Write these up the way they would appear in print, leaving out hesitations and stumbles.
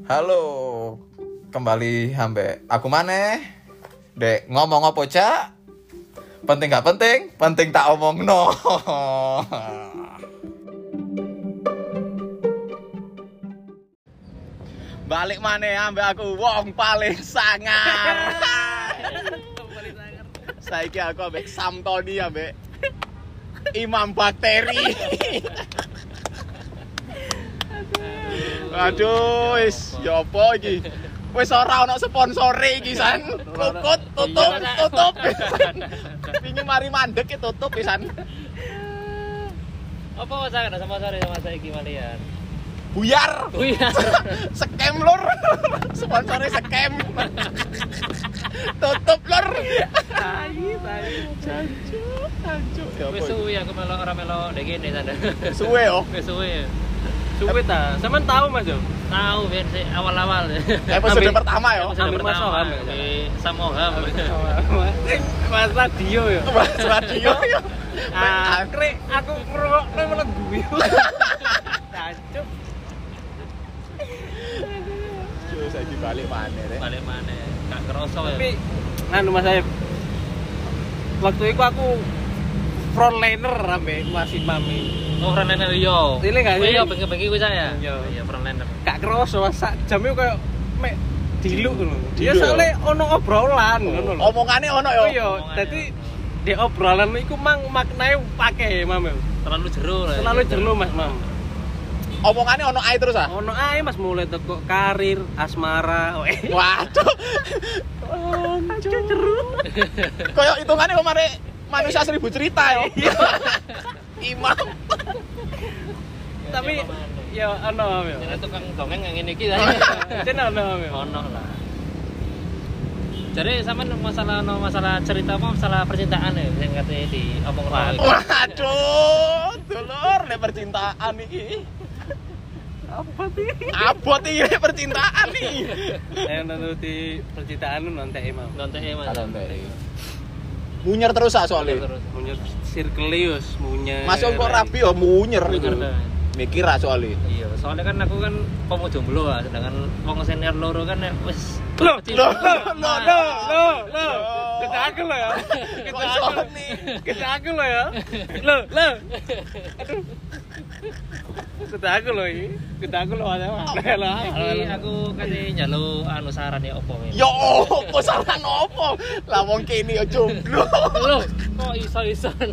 Halo, kembali ambek aku maneh. Dek ngomong apa cak? Penting gak penting? Penting tak omong no. Balik maneh ambek aku wong paling sangar. Saiki aku ambek Samtoni ambek Imam Bakteri. Aduh, wis ya apa iki? Wis ora ono sponsore iki san. Tutup. Pingin mari mandek ki tutup pisan. Apa masalah ada sponsore sama saiki malian? Buyar. Scam lur. Sponsore scam. Tutup lur. Jancuk. Wis suwe aku melok ora melok ndek kene sana. Suwe yo. Wis suwe. Suwe ta, sampean tahu Mas yo? Tahu ben awal-awal. Episode pertama yo. Episode Ambil pertama, Mas Oham, ambil Samoham. Mas radio yo. Mas radio yo. Krek aku ngrungokne malah guyu. Cancuk. Yo saiki balik maneh rek. Balik maneh. Gak kerasa ya. Tapi nganu Mas Saif. Waktu itu aku frontliner ambek Mas Imami. Oh, frontliner yo. Ini gak sih? Iya, bengi-bengi ku saya. Iya. Iya, frontliner. Gak kerasa sak jam itu kayak mek diluk ngono. Diluk. Ya soalnya ono obrolan ngono lho. Omongane ono yo. Iya, dadi di obrolan iku mang maknane pake Mam. Terlalu jero lah. Terlalu jero Mas Mam. Omongane ono ae terus ah. Ono ae Mas mulai teko karir, asmara. Waduh. Anjir jeru. Kayak hitungane kemarin manusia 1000 cerita yo. Imam. Tapi ya ono Mam yo. Jadi tukang dongeng yang ngene iki ta. Jen ono Mam yo. Ono lah. Jadi sampean masalah cerita apa masalah percintaan ya sing kate di omong ora. Waduh, dulur nek percintaan iki. Apa sih? Abot iki percintaan iki. Yang nuruti percintaan lu nontek Mam. Nontek Mas. Munyer terus ah soalnya. Terus. Munyer sirkelius, munyer. Masuk kok rapi yo munyer iku. Munyer. Mikir ah soalnya. Iya, soalnya kan aku kan pemuda jomblo lah, sedangkan wong senior loro kan ya wis Loh. Kita aku lo ya. Kita aku lo ya. Loh. Aduh. Kita aku lo ini. Kita aku lo ada mana lah. iki aku kate njaluk anu saran ya opo ini. Yo opo saran opo? Lah wong kene yo jomblo. Loh, kok iso-ison.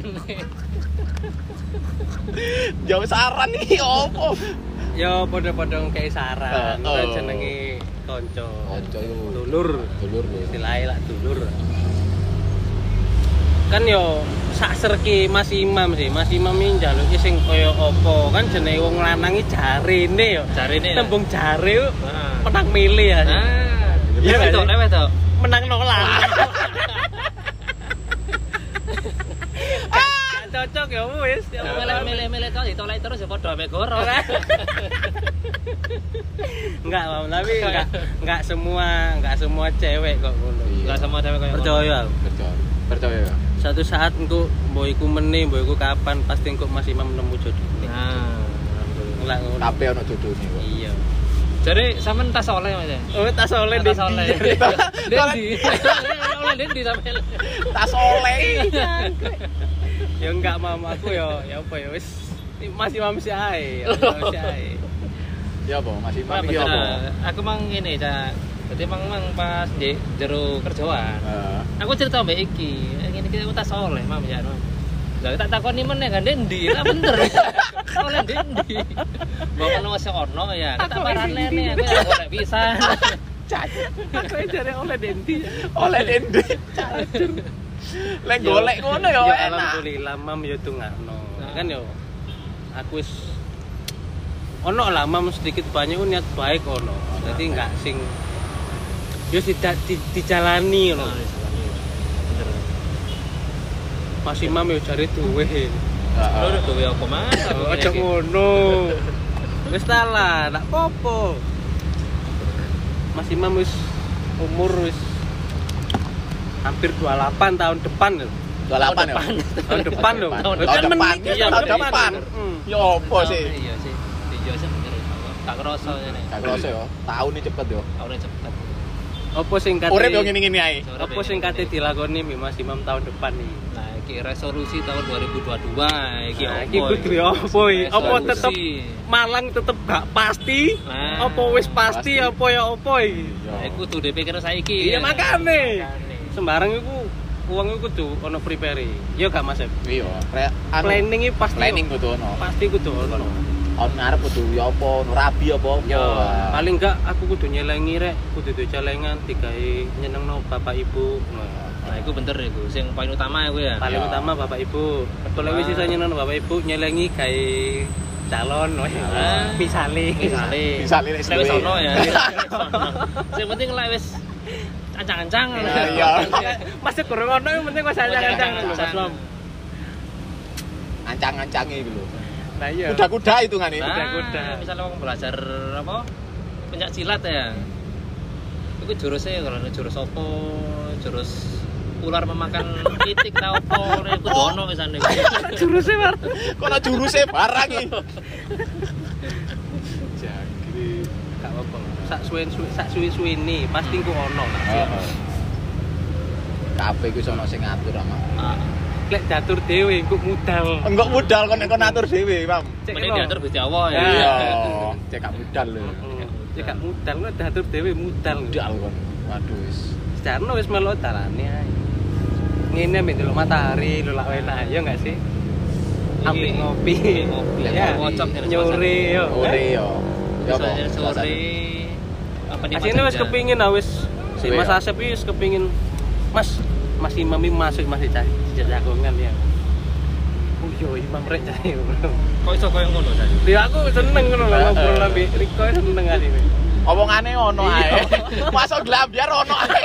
Jauh saran iki opo? Yo podo-podo kayak saran. Oh. Kan jenenge kanca. Kanca iku Dulur. dulur. Istilahnya lah dulur. Kan yo sak serki Mas Imam sih. Mas Imam iki njaluki sing kaya apa? Kan jenenge wong lanang iki jarine yo. Jarine. Tembung jare Heeh. menang milih ya. Ah. Iya Lewat nggak lewat to. Menang nolak. Cocok ya wis. Milih-milih to ditolak terus ya padha ame goro. Enggak, Mam, tapi enggak semua cewek kok ngono. Enggak sama cewek koyo Percaya aku. Percaya ya. Suatu saat engko mbok iku meneh, mbok iku kapan pasti engko Mas Imam nemu jodoh. Nah, Enggak ngono. Kabeh ono jodone kok. Iya. jadi sampean tas oleh Mas ya? Oh, tas oleh Tas oleh. Dendi. Oleh Dendi sampean. Tas oleh. Ya enggak Mam, aku ya apa ya wis Mas Imam sih ae. Masih ae. Ya apa? Masih Wah, mami bener. apa? Aku mang ngene ta. Dadi mang pas di jero kerjaan. Heeh. Aku cerita mbek iki. Ngene iki aku tas oleh Mam ya. Lah tak takoni meneh kan Dendi. Lah bener. Oleh Dendi. Mbok ono wis ono ya. Tak parane aku ya golek pisan. Aku jare oleh Dendi. Oleh dende. Cacur. Lek golek ngono yo Ya enak. alhamdulillah Mam ya dongakno. Kan yo aku wis ono lah Mam sedikit banyak niat baik ono. Jadi enggak sing yo tidak dijalani ngono. Bener. Mas Imam yo jare duwe. Lho duwe apa Mas? Aja ngono. Wis ta lah, ndak apa-apa. Mas Imam wis umur wis hampir 28 tahun depan lho. 28 ya. Tahun depan lho. Tahun depan. Kan menikah Iya, tahun depan. Hmm. Yo opo sih? Iya sih. Iya sih bener. Gak kerasa ngene. Gak kerasa yo. Tahun iki cepet yo. Tahunnya cepet. Apa sing kate Urip yo ngene-ngene ae. Apa sing kate dilakoni Mas Imam tahun depan iki? Nah, iki resolusi tahun 2022 iki Nah, opo? iki kudu apa iki? Apa tetep Malang tetep gak pasti? Nah. Apa wis pasti apa ya apa iki? Nah, iku kudu dipikir saiki. Iya makane. Makane. Sembarang iku uang iku kudu ono prepare. Ya gak Mas? Iya, Planning iki pasti. planning kudu ono. Pasti kudu ono. Tahun ngarep kudu ya apa, ono rabi apa. Ya, paling enggak aku kudu nyelengi rek, kudu duwe celengan digawe nyenengno bapak ibu. Nah, iku bener iku. Sing paling utama iku ya. Paling Ya. utama bapak ibu. Kalau wis iso nyenengno bapak ibu nyelengi gawe calon misale. Bisa lirik Lek wis ono ya. Sing penting lek wis ancang-ancang. Iya. Masih kurang ono yang penting wis ancang-ancang lho Mas Mam. Ancang-ancange iku lho. Nah iya. Kuda-kuda hitungane. Nah, Kuda-kuda. misalnya mau belajar apa? Pencak silat ya. Iku jurusnya kalau jurus apa? Jurus ular memakan itik ta opo? Iku ono wisane. Jurusnya Mar. Kono juruse barang iki. Jagri. Gak apa-apa. Sak suwi-suwi pasti ku ono lah. Heeh. Kabeh iku ono sing ngatur ama. Ah, Lek diatur dhewe engko modal. Enggak modal kon ngatur dhewe, Mam. mending diatur Gusti Allah ya. Iya, cek gak modal lho. Ya gak modal, lek diatur dhewe modal. Modal kon. Waduh wis. Sejarno wis melok dalane ae. Ngene ambek delok matahari, lho lak enak ya enggak sih? Ambek ngopi. Ngopi. Ya, Ngocok dari nyore yo. Ore yo. Ya apa? Biasanya sore apa di Asine wis kepingin wis si Duwe Mas ya? Asep iki wis kepingin Mas Imam iki masuk masih jagongan ya. Oh yo Imam rek jae. Kok iso koyo ngono tadi? Ya aku seneng ngono lho ngobrol ambek Riko seneng asine. Omongane ono ae. Masuk glambyar ono ae.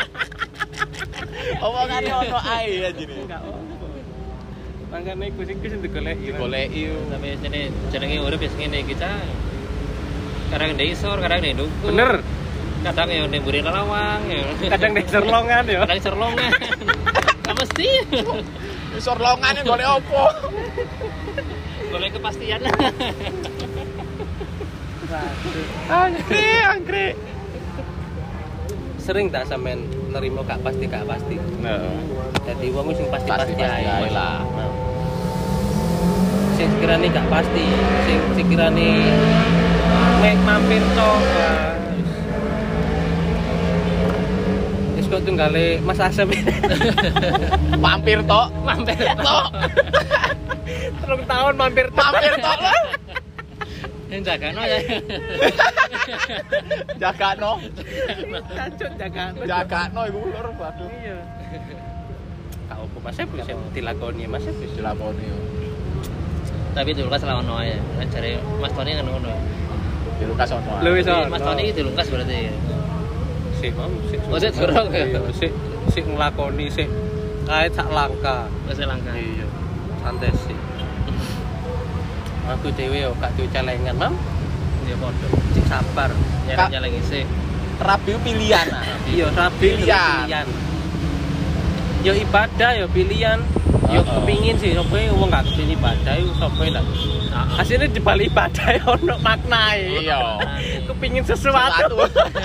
Omongane ono ae anjene. Enggak apa. Mangkane iku sing digoleki. Digoleki yo. Tapi jenenge urip wis ngene iki ta. Kadang ndek isor, kadang ndek duku. Bener. Kadang ya ndek mburi lawang ya. Kadang nek serlongan ya. Kadang serlongan. Gak mesti. Isor longane golek opo? Golek kepastian. Anggrek. Sering tak sampean nerimo gak pasti. Heeh. Dadi wong sing pasti-pasti Pasti-pasti ae lah. Sing sekirane gak pasti, sing sekirane mek mampir tok. Wis kok tunggale Mas Asep. Mampir tok. Mampir Tok. 3 tahun mampir tok. Mampir tok lah. yang jagano ya. Jagakno. Cacut jagano. Jagakno iku lur waduh. Iya. Kak opo Mas Asep wis dilakoni Mas Asep wis Dilakoni yo. Tapi dulu kan salah ono ya. Cari Mas Tony kan ngono. Di Lukas ono. Lho wis Mas Tony iki dilungkas berarti. sik Mam, sik. Oh, sik durung ya? Iya, sik nglakoni sik kae sak langka. Wis langka. Iya. Santai sih. Aku dhewe yo gak duwe celengan, Mam. Ya padha. Cik sabar. Nyaranya lagi sih. Rabi pilihan. Iya, rabi Pilihan. Yo ibadah yo pilihan. Yo Heeh. kepingin sih sapa wong gak kepingin ibadah iku sapa lah. Asline di balik ibadah yo ono maknae. Iya. Kepingin sesuatu.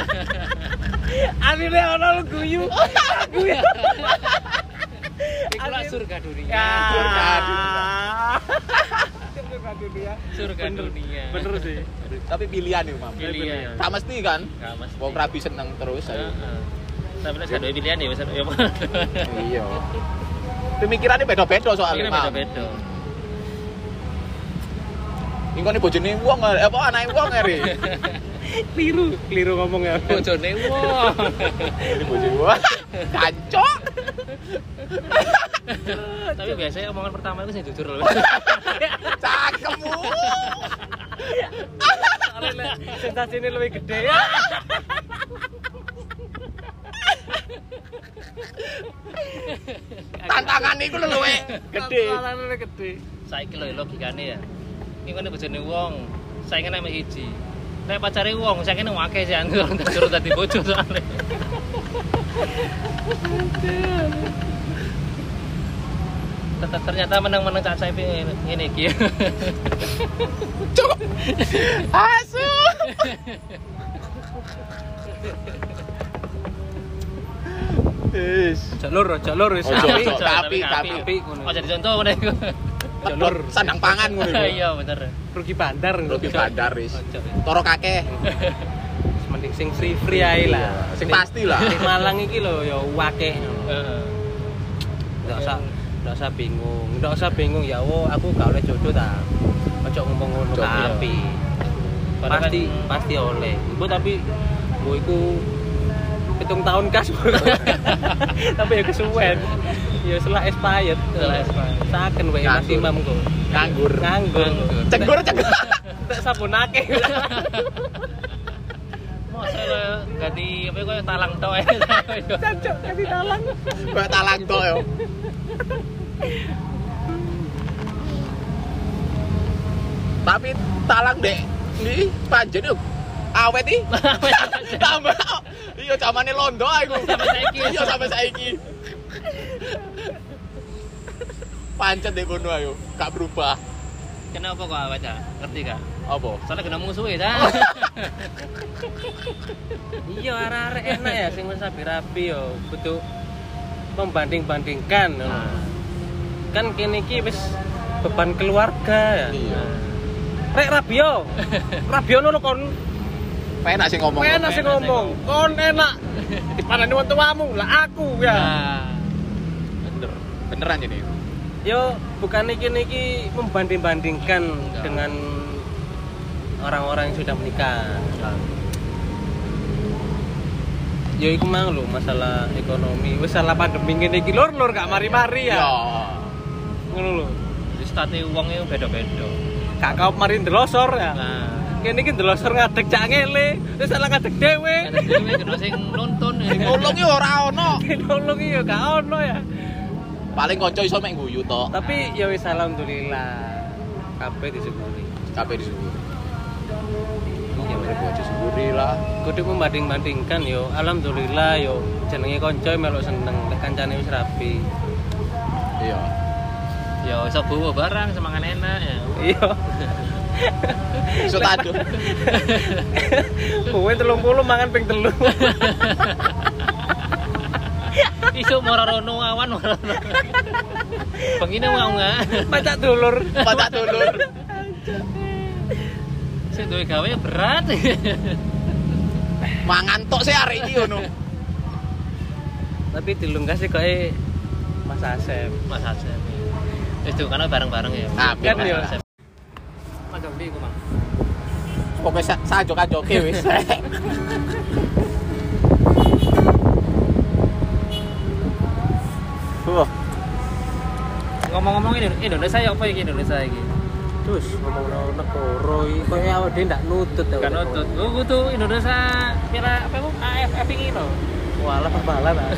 Asline ono lu guyu. Guyu. Iku lah surga dunia. Ya. Surga Surga dunia. Surga dunia. Bener sih. Tapi pilihan itu, Mam. Pilihan. Tak mesti kan? Gak mesti. Wong rabi seneng terus ayo. Heeh. Tapi nek gak duwe pilihan ya wis ya. Iya. Pemikirannya beda-beda soalnya, Ini Mam. beda-beda. Ingkone bojone wong apa anake wong ere. Keliru ngomong ya. Bojone wong. Ini bojone wong. Kancok. Tapi biasanya omongan pertama itu sih jujur loh. Cakemmu. Soalnya sensasinya lebih gede. Tantangan iku luwe gede. Tantangannya lebih gede. Saiki lho logikane ya. Iki kan bojone wong, saiki nek siji. Nek pacare wong, saiki nek akeh sih anggur terus dadi bojo soalnya. Tetap ternyata menang-menang Cak Saip ngene iki. Cukup. Asu. Wis. Jalur wis. Ojo, tapi tapi. ngono. Ojo dicontoh ngene iku. Jalur Sandang pangan ngono iku. Iya bener. rugi bandar Rugi bandar wis. Ojo. Toro kakeh. Mending sing free ae lah. Sing pasti lah. Di Malang iki lho ya akeh. Heeh. Nggak usah bingung ya aku gak oleh jodoh ta. Ojo ngomong ngono Jodoh. tapi pasti oleh. Iku tapi mbok iku 7 tahun kas. Tapi ya kesuwen. Ya setelah expired. Saken wae maksimum kok. Nganggur. Cenggur. Cenggur. Tak sabunake. Masa ganti apa kok talang tok ya. Cancuk kasih talang. Kayak talang tok yo. Tapi talang dek iki panjen yo awet iki. Tambah. Iya zamane londo aku. Sampai saiki. Iya sampai saiki. Pancet dek kono ayo, gak berubah. Kenapa kok awet ya? Ngerti gak? Apa? Soalnya kena musuh ya. Iya arek-arek enak ya sing wis rapi-rapi yo kudu membanding-bandingkan. Kan kene iki wis beban keluarga ya. Iya. Rek Rabio. Rabio ngono kon. Penak sih ngomong. Enak sih ngomong. Kon enak. Dipanani wong tuamu, lah aku ya. Nah, Beneran ini. Yo bukan iki membanding-bandingkan dengan orang-orang yang sudah menikah. Ya iku mang lho masalah ekonomi. Wis salah pandemi ngene iki lur gak mari-mari ya. Ya. Ngono lho. wis tate wong e beda-beda. Gak kau mari ndelosor ya. Nah, Kene iki ndelosor ngadeg cak ngele. Wis salah ngadeg dhewe. ada dhewe kena sing nuntun. Nolong yo ora ono. Nolong iki ya gak ono ya. Paling kanca iso mek guyu tok. Tapi ya wis alhamdulillah. Kabeh disyukuri. Kabeh disyukuri. Iya Mereka disyukuri lah. kudu membanding-bandingkan yo alhamdulillah yo jenenge kanca melok seneng nek kancane wis rapi. Iya. Ya iso bawa barang semangan enak ya. Iya. Iso tadu. Kowe 30 mangan ping 3. Iso morono awan morono. Pengine mau enggak? Pacak dulur. Patak dulur. Sing duwe gawe berat. Mangan tok sih arek iki ngono. Tapi dilungkas sih koe Mas Asep. Mas Asep. Itu karena bareng-bareng ya. Ah, kan ya. Mas Jombi iku, Mang. Pokoke sajok-ajoke wis. Ngomong-ngomong ini Indonesia ya apa iki Indonesia iki? Terus ngomong negara iki koe awake dhewe ndak nutut ta. Kan nutut. Lu kudu Indonesia kira apa ku AFF iki lho. Walah perbalan ta.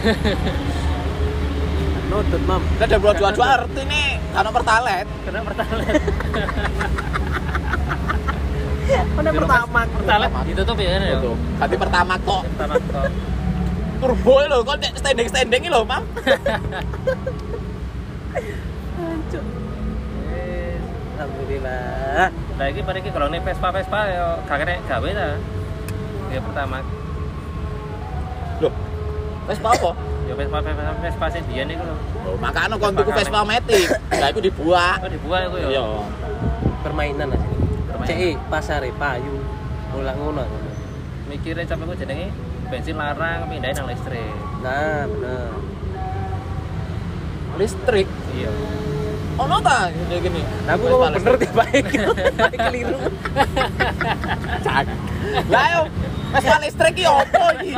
Nutut, Mam. Lah ada dua-dua artine kan pertalet. Kena pertalet. Mana pertama? Pertalet ditutup ya kan ya. Tuh. Ganti pertama kok. Pertama kok. Turbo lho, kok nek standing-standing lho, Mam. Hancur. Alhamdulillah. Lah iki pada iki kalau nih Vespa ya gak kena gawe ta. Ya pertama. Loh. Vespa apa? Ya Vespa sing biyen iku lho. Loh, makane kon tuku Vespa Matic. Lah iku dibuat. Oh dibuat iku ya. Iya. Permainan asli. CI pasare payu. Ulang ngono. Mikire capek ku jenenge bensin larang pindahin nang listrik. Nah, bener. Listrik. Iya. Ono ta ngene gini. Aku ngomong bener tiap baik. Baik keliru. Cak. Lah yo, Vespa listrik ki opo iki?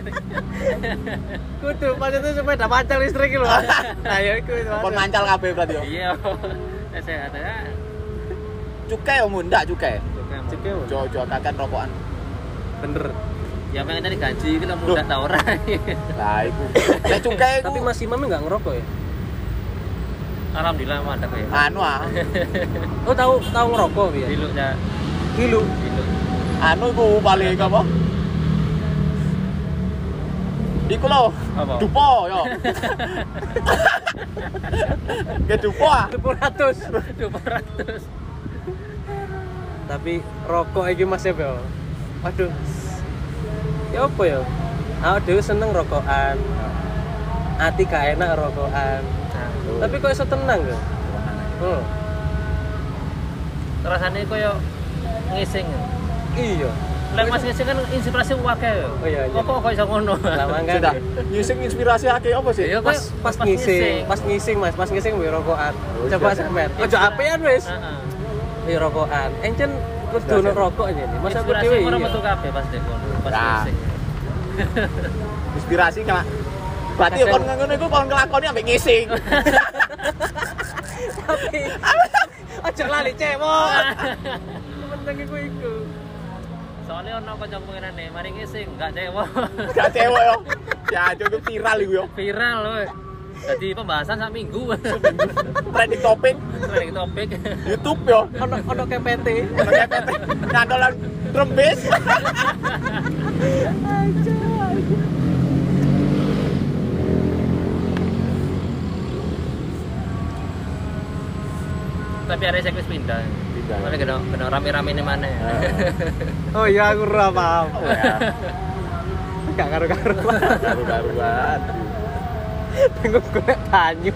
Kudu maksudnya sepeda pancal listrik lho. Nah, ya iku. Kon mancal kabeh berarti yo. Iya. Sehat ya. Cukai yo mundak cukai. Cek yo. Jojo kakan rokokan. Bener. Ya pengen tadi gaji iki lho mudah ta ora. Lah iku. Lah cukai iku Tapi Mas Imam enggak ngerokok ya? Alhamdulillah mantap ya. anu ah. Oh, tahu ngerokok ya? Diluk ya. Gilu. Diluk. Anu iku paling apa? Iku lho. Apa? Dupo yo. Ke dupo ah. 200. Tapi rokok iki Mas ya, Bel. Waduh. Ya apa ya? Aku dhewe seneng rokokan. Ati gak enak rokokan. Tapi kok iso tenang ya? Rasane koyo ngising. Iya. Lek Mas ngising kan inspirasi akeh ya. Oh iya. Kok iso ngono? Lah mangga. Sudah. Ngising inspirasi akeh apa sih? Iya, Pas ngising Mas, pas ngising we rokokan. Coba sampean. Ojo apean wis. Heeh. Rokokan. Encen kudu ono rokok aja nih. Masa aku Inspirasi dhewe. ora metu kabeh pas dek ngono. Pas Nah. ngising. Inspirasi kan. Berarti kon ngono iku kon nglakoni ambek ngising. Tapi ojo lali cewek. Penting iku. Soalnya ono kancaku ngene, mari ngising gak cewek. Gak cewek yo. Ya, itu viral iku yo. Viral loh. Jadi pembahasan sak minggu. Trending topik Trending topik. YouTube yo. Ono KPT. Ngandolan drum bass. Tapi ada saya pindah. Pindah. Mana kena rame-rame ini mana ya? Oh iya aku ora paham. Oh ya. Gak karu-karuan. Karu-karuan. Tengok golek banyu.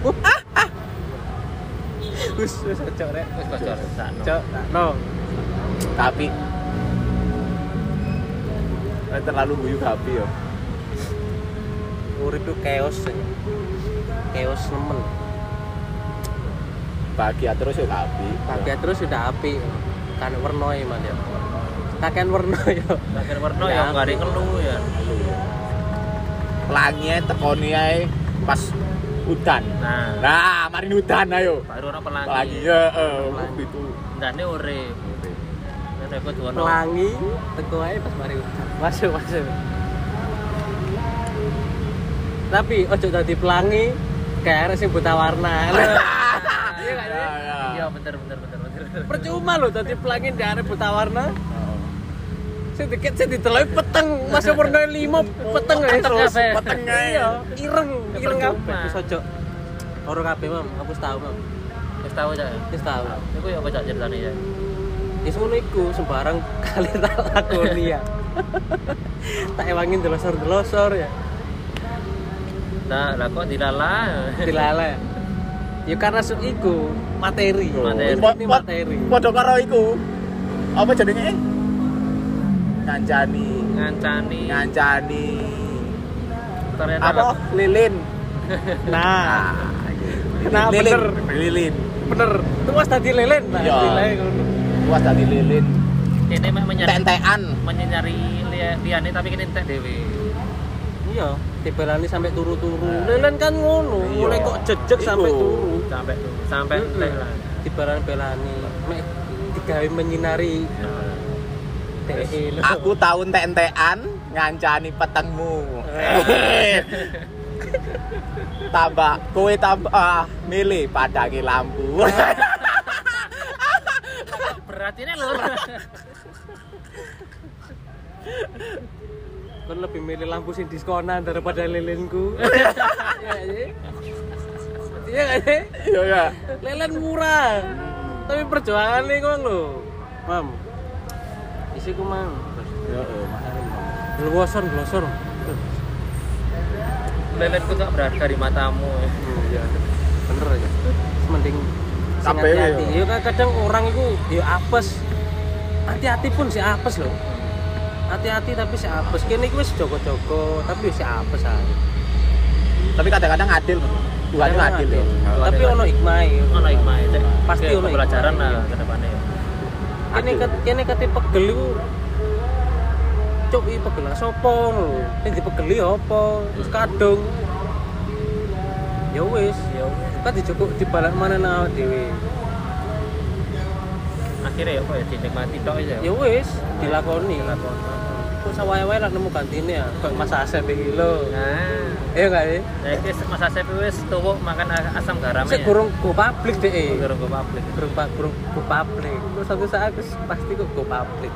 Wis cocok rek. Wis bocor sakno. Cok, no. Tapi terlalu guyu Gapi yo. Urip itu chaos. Chaos nemen. Bahagia terus yo Gapi. Bahagia terus sudah api. Kan werna ya, Mas ya. Kaken werna ya. Akhir warna ya enggak ada ngeluh ya. Pelangi tekoni ae pas udan. Nah, mari udan ayo. Baru ono pelangi. Pelangi ya, itu. Ndane urip. Nek aku duwono. Pelangi teko ae pas mari udan. Masuk. Tapi ojo dadi pelangi kayak arek sing buta warna. Iya gak sih? Iya bener. Percuma lho dadi pelangi di arek buta warna. Sing dikit sing diteloki peteng, masuk warna 5 peteng ae terus. Peteng ae. Iya, ireng Percuma. kabeh. Wis ojo. Ora kabeh, Mam. Aku wis tau, Mam. Wis tahu aja. Wis tau. Iku ya apa ceritane ya? Wis ngono iku sembarang kali tak lakoni ya. Tak ewangin delosor ya. Lah kok dilala. Dilala. Ya karena iku materi. Ini materi. Padha karo iku. Apa jenenge? Ngancani. Ternyata Apa? Lilin. Nah, nah bener. Lilin. Bener. Itu was tadi lelen. Nah, Iya. dilai ngono. Puas tadi lilin. ini mah Tentean. menyari liane tapi kene entek dhewe. Iya, dibelani sampai turu-turu. Lelen kan ngono, Iya. mulai kok jejeg sampai Iku. turu. Sampai entek lah. Dibelani-belani. Mek digawe menyinari DE. Aku tahu entek-entekan ngancani petengmu. Kowe tambah milih padangi lampu. Berat ini lho. Kan lebih milih lampu sing diskonan daripada lilinku. Iya gak sih? Iya ya. Lelen murah. Tapi perjuangan nih kok lho. Mam. Isiku mang. Glosor. Lelenku tak berharga di matamu. Iya. Bener aja. Mending Sampai hati-hati. Ya kadang orang itu ya apes. Hati-hati pun si apes loh. Hati-hati tapi si apes. Kene iki wis jogo-jogo tapi si apes ae. Tapi kadang-kadang adil. Tuhan itu adil ya. Tapi ono hikmah. Ono hikmah itu. Pasti ono pelajaran hikmah. lah ke depannya. Kene kate pegel iku cuk iki pegel sapa lho. Sing dipegeli apa? Wis kadung. Ya wis. Kan dijukuk dibalan mana nang dhewe. Akhirnya ya apa ya dinikmati tok aja. Ya wis, dilakoni. Kok sawae-wae lah nemu gantine ya. Kok Mas Asep iki lho. Nah, Iya enggak sih? ya iki Mas Asep wis tuwuk makan asam garam Sik gurung go publik dhek. Gurung go publik. Gurung go publik. Terus suatu saat pasti kok go publik.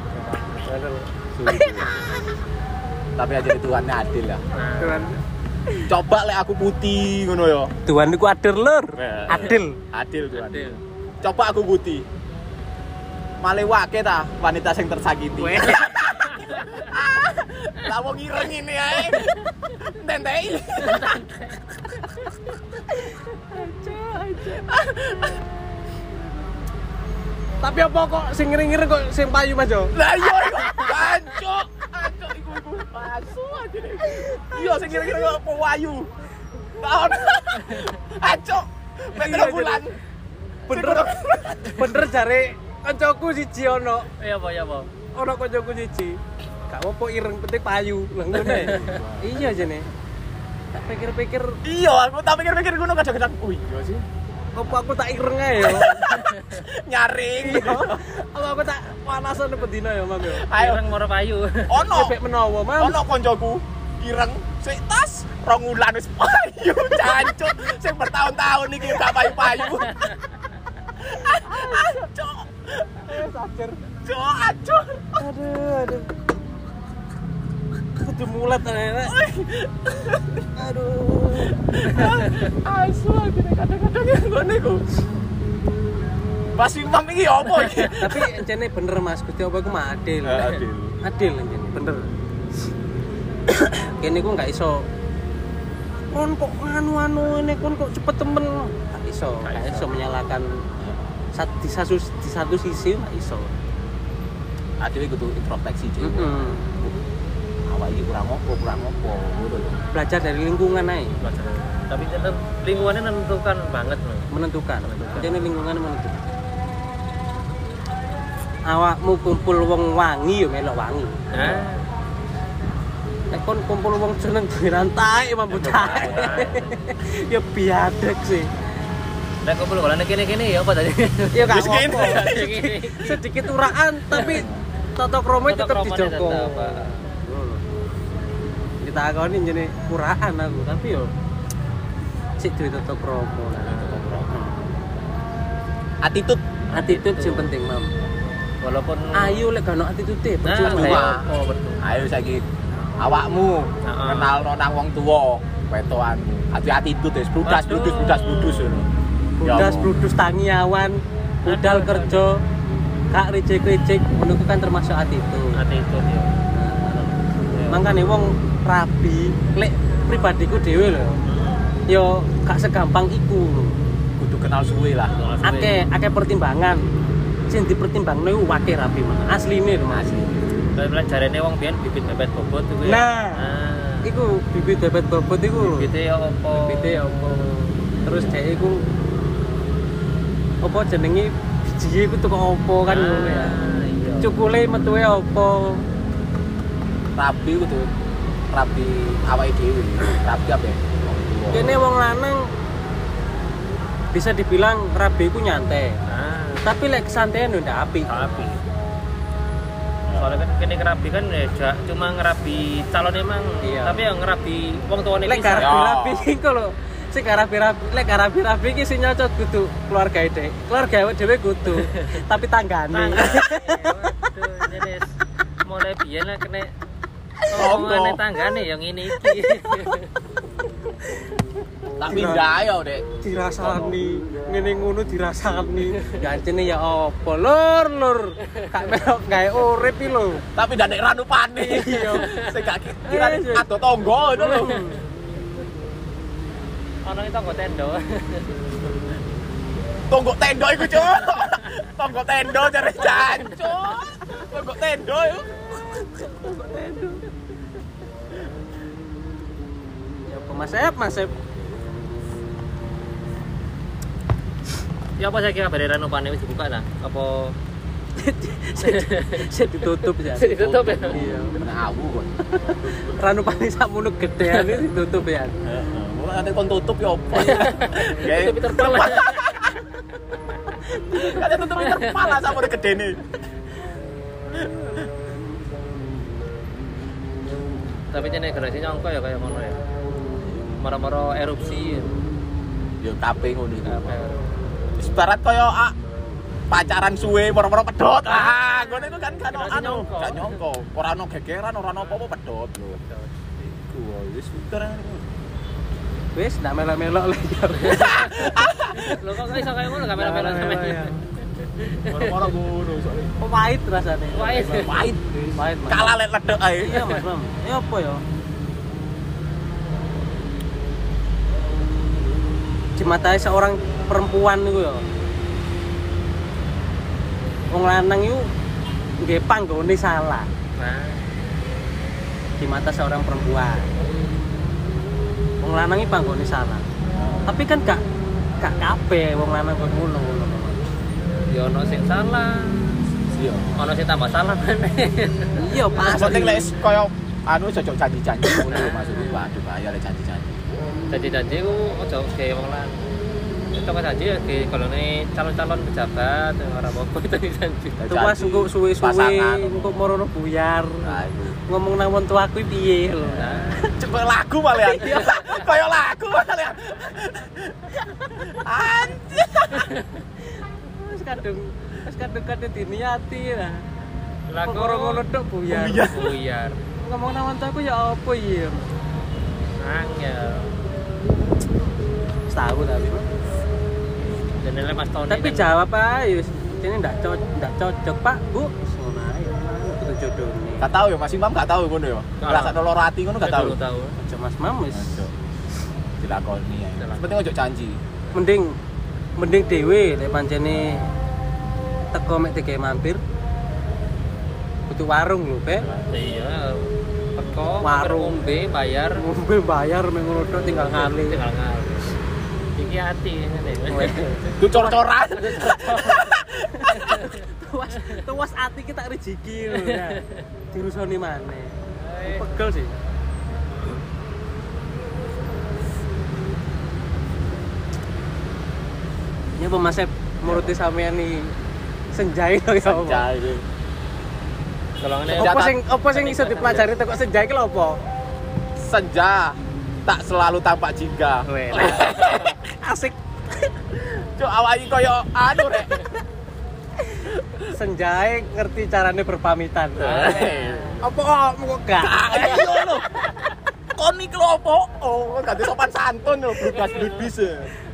Tapi aja Tuhannya adil ya. Nah, Tuhan. Coba lek aku putih ngono ya. Tuhan niku adil lur. Adil. Adil Tuhan. adil. Coba aku putih. Malih wake ta wanita sing tersakiti. Lah wong ireng ini ae. Tentei. Tapi apa kok sing ngiri-ngiri kok sing payu Mas yo? Lah iya iku. Ancuk iku pasu aja. Iya sing kira-kira kok payu. Tahun. Ancuk. Bener bulan. Bener jare kancaku siji ono. Ya apa? Ono kancaku siji. Gak apa ireng penting payu. Lah ngono. Iya jane. Tak pikir-pikir Iya, aku tak pikir-pikir ngono kadang-kadang. Oh iya sih. apa aku tak ireng ae yo. Nyaring. Apa aku tak panasan bedina ya, Mam yo. Ayo Ireng moro payu. ono. Cepet menawa, Mam. Ono koncoku ireng sik tas 2 wulan wis payu jancuk sing bertahun-tahun iki gak payu-payu. Ancuk. Sacer. Ancuk. Aduh. Kudu mulat ae. Aduh. Asu iki kadang-kadang ngene iku. Pas imam iki opo iki? Tapi encene bener Mas, Gusti apa iku mah adil. Adil encene, bener. Kene ku gak iso kon kok anu ini kon kok cepet temen. Gak iso menyalahkan di satu sisi gak iso. Adil kudu introspeksi sih. Awak iki kurang opo ngono lho. Belajar dari lingkungan ae. Tapi tetap lingkungannya menentukan banget loh. Menentukan. Jadi lingkungan menentukan. Awakmu kumpul wong wangi yo melok wangi. Nek kon kumpul wong jeneng dirantai mambucae. Ya biadek sih. Nek kumpul golane kene-kene ya apa tadi? Ya gak Wis kene. apa. Sedikit uraan tapi tata krama tetep dijogo. Ditakoni jenenge uraan aku, tapi yo sik duwe tata krama. Attitude sing penting, Mam. Walaupun Ayo lek gak ono attitude percuma. betul. Ayo saiki awakmu kenalno nang wong tuwa wetoanmu. Hati-hati itu wis brudas ngono. Budas bludus tangiawan, budal kerja, gak rejek-rejek, menurutku kan termasuk attitude. Attitude ya. Mangkane wong rabi, lek pribadiku dhewe lho. Yo gak segampang iku. Kudu kenal suwe lah. Akeh pertimbangan. Sing dipertimbangno iku wake rabi mah. Asline lho, Mas. Tapi jarene wong biyen bibit bebet bobot iku ya. Nah, iku bibit bebet bobot iku. Bibite ya apa? Terus dhek iku apa jenenge biji iku teko apa kan ngono ya. Iya. Cukule metuwe apa? Rabi kudu rabi awake dhewe. Rabi apa ya? Kene wong lanang bisa dibilang rabi iku nyantai. Tapi lek kesantean ndak apik. Rabi. Soalnya kan kene ngerabi kan ya cuma ngerabi calon emang. Iya. Tapi yang ngerabi wong tuane Lek pisan. rabi iku lho. Sing lek rabi iki sing nyocot kudu keluarga dhek. Keluarga dhewe kudu. Tapi tanggane. Waduh, jenis mulai biyen lah kena omongane tanggane yang ngene iki. Tak pindah ayo, Dek. Dirasani, ngene ngono dirasani. Gancene ya apa? Lur. Gak melok gawe urip iki lho. Tapi ndak nek ranupane. Iya. Sing gak kira ado tangga itu lho. Ono itu nggo tendo. Tonggok tendo iku, Cuk. Tonggok tendo jare jancuk. Tonggok tendo iku. Ya apa Mas Ep? Ya apa saya kira bare ranupane wis dibuka ta? Apa Saya ditutup ya. ditutup ya? Iya. Kena awu kok. Ranupane sakmono gedean iki ditutup ya. Heeh. Wong ate kon tutup ya apa? Tutup terpal. Kate tutup terpal lah sakmono gedene. Tapi jane gerasi nyongko ya kayak ngono ya. Moro-moro erupsi. Ya kabeh ngono iku. Ibarat kaya pacaran suwe moro-moro pedhot. Ngono iku kan gak nyongko. Ora ono gegeran, ora ono apa-apa pedhot lho. Iku wis terang. Wis ndak melok-melok lagi. Lho kok iso kayak ngono gak melo-melo sampeyan. Moro-moro ngono soalnya. Pahit rasane. Pahit. Pahit. Pahit, Mas. Kalah lek ledek ae. Iya, Mas, Mam. Ya apa ya? Di mata seorang perempuan niku ya. Wong lanang iku nggih panggone salah. Nah, Di mata seorang perempuan. Wong lanang iki panggone salah. Tapi kan gak kabeh wong lanang kok ngono. ya ono sing salah. Iya. Ono sing tambah salah meneh. Iya, pasti. Penting lek koyo anu cocok janji-janji ngono lho maksudku. Waduh bahaya lek janji-janji. Janji-janji ku ojo gawe wong lan. Itu kan janji ya kalau nih calon-calon pejabat ora apa-apa itu janji. Tuas engko suwe-suwe pasangan. engko morono buyar. Nah, itu. Ngomong nang wong tuaku piye lho. Coba lagu malian. Kayak lagu malian. Anjir. Wis kadung diniati lah. Lagu Kok ngono tok buyar. buyar. Ngomong nang wong tuaku ya apa iya. Angel. Setahun tapi. Jenenge Mas Tony. Tapi jawab ae wis ini ndak cocok, Pak, Bu. Ngono ae. Kudu jodone. Gak tahu ya Mas Imam gak tahu ngono ya. Rasa loro ati ngono gak tahu. Tahu. Aja Mas Mam wis. Dilakoni ya. Penting ojo janji. Mending dhewe lek pancene teko mek digawe mampir. Kudu warung lho, Pak. Iya. Teko Warung. ngombe bayar Ngombe bayar mek ngono tok tinggal ngali. tinggal ngal. Iki ati ngene. Itu cor-coran. Tuas ati kita rezeki lho ya. Dirusoni maneh. Pegel sih. Ya pemasep muruti sampean nih senjai lho ya. Senja iki. Kalau ngene Apa sing iso dipelajari teko senjai ki lho apa? Senja tak selalu tampak jingga. Asik. Cuk awak iki koyo anu rek. Senjai ngerti carane berpamitan. Apa kok gak? Iya lho. Kon iki lho opo? Oh, ganti sopan santun lho, blugas-blubis.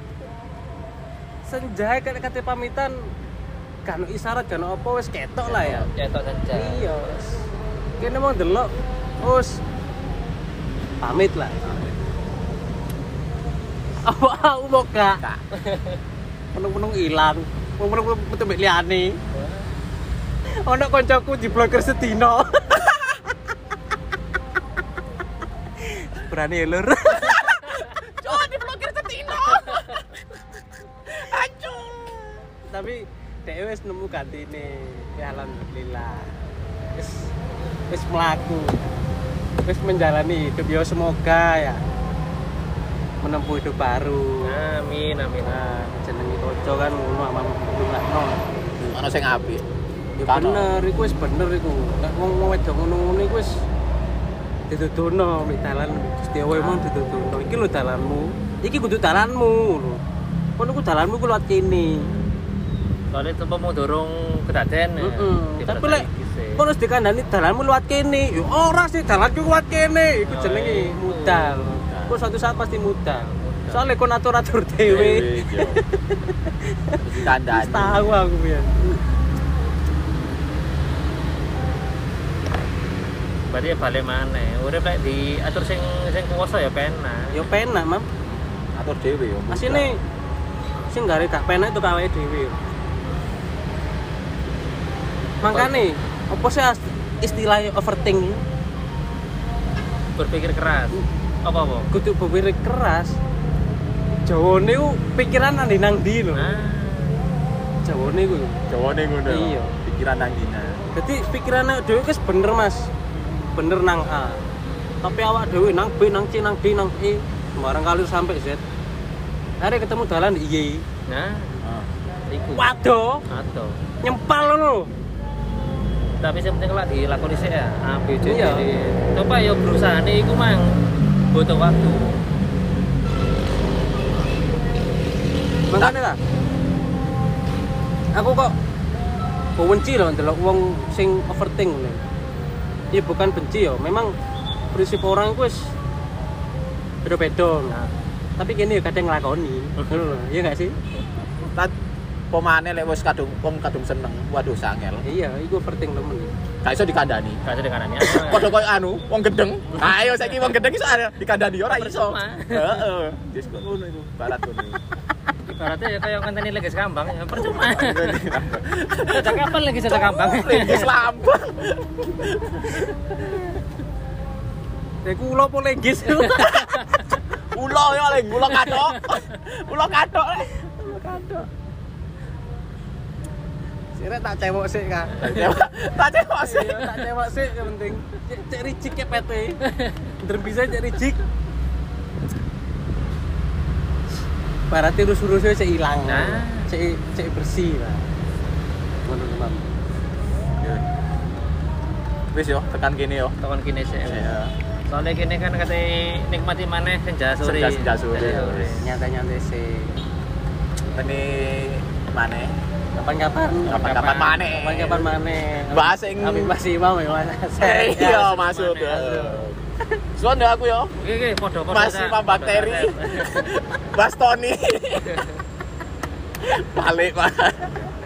Senjai kate pamitan kan isyarat kan apa wis ketok lah ya. cetok senja. Iya. Kene mau delok wis pamit lah. Apa aku mau gak? Penung-penung ilang. Penung metu mbek liyane. Ono kancaku diblokir sedina. Berani lur. Cuk diblokir setino. Ancur. Tapi dhewe wis nemu gantine. Ya alhamdulillah. Wis mlaku. Wis menjalani hidup ya semoga ya menempuh hidup baru. Amin. Nah, jenenge kanca kan ngono amang lunakno. Ono sing apik. Ya bener, iku wis bener iku. Nek wong wedok ngono-ngono iku wis dituduhno mek dalan Gusti Allah emang dituduhno. Iki lho dalanmu. Iki kudu dalanmu lho. Kono ku dalanmu ku liwat kene. Soalnya tempat mau dorong kedaden ya. Tapi lek kono wis dikandani dalanmu liwat kene. Ya ora sih dalanku liwat kene. Iku jenenge mudal. Kok suatu saat pasti mudal. Soalnya kon atur-atur dhewe. Ditandani. Tahu aku pian. Berarti balik mana? Urip lek diatur sing kuwasa ya penak. Ya penak, Mam. Atur dhewe yo. Asine sing gare gak penak itu kawake dhewe. Makane apa sih istilah overthink? Berpikir keras. Apa? Kudu berpikir keras. Jawane ku pikiran nang ndi lho. Jawane ku. Jawane ngono. Iya. Pikiran nang dina. Dadi pikirane dhewe wis bener, Mas. Bener nang A. Tapi awak dhewe nang B, nang C, nang D, nang E, sembarang kali sampai Z. Hari ketemu dalan di Y. Nah, iku. Waduh, Atau. nyempal lho. Tapi yang penting lah dilakoni sih ya. A, B, C, D. Iya. Coba ya berusaha nih, iku mang butuh waktu. Makane lah. Aku kok benci loh ndelok wong sing overthink ngene. Ya bukan benci ya, memang prinsip orang itu wis beda-beda. Nah, tapi kene ya kadang nglakoni. Ngono lho, iya enggak sih? Pemane lek wis kadung seneng. Waduh sangel. Iya, iku overthink temen. Gak iso dikandani. Gak ada kanannya. Padha koyo anu, wong gedeng. Ayo saiki wong gedeng iso dikandani ora iso. Percuma. Heeh. Wis ngono iku, barat ngono. Ibaratnya ya kayak ngenteni lagi sekambang ya percuma. Sejak kapan lagi sejak kambang? Linggis lambang. Iku ulo apa lenggis? Ulo ya leng, ulo kathok. Ulo kathok. Sire tak cewek sik, Kak. Tak cewek sih. Iya, tak cewek sik yang penting. Cek ricik ya PT. Bener bisa cek ricik. Berarti urus-urusnya cek ilang. Nah. Cek bersih lah. Ngono teman. Wis yo, tekan kene yo. Tekan kini sih. Iya. Soalnya kini kan kata nikmati maneh senja sore. Senja sore. Nyantai-nyantai sih. Ini mana? Kapan-kapan maneh. Kapan-kapan maneh. Bahas sing Kami masih mau ya Mas. iya maksud. Suan aku yo. Oke, podo-podo. Masih bakteri. Bastoni. Balik, Pak.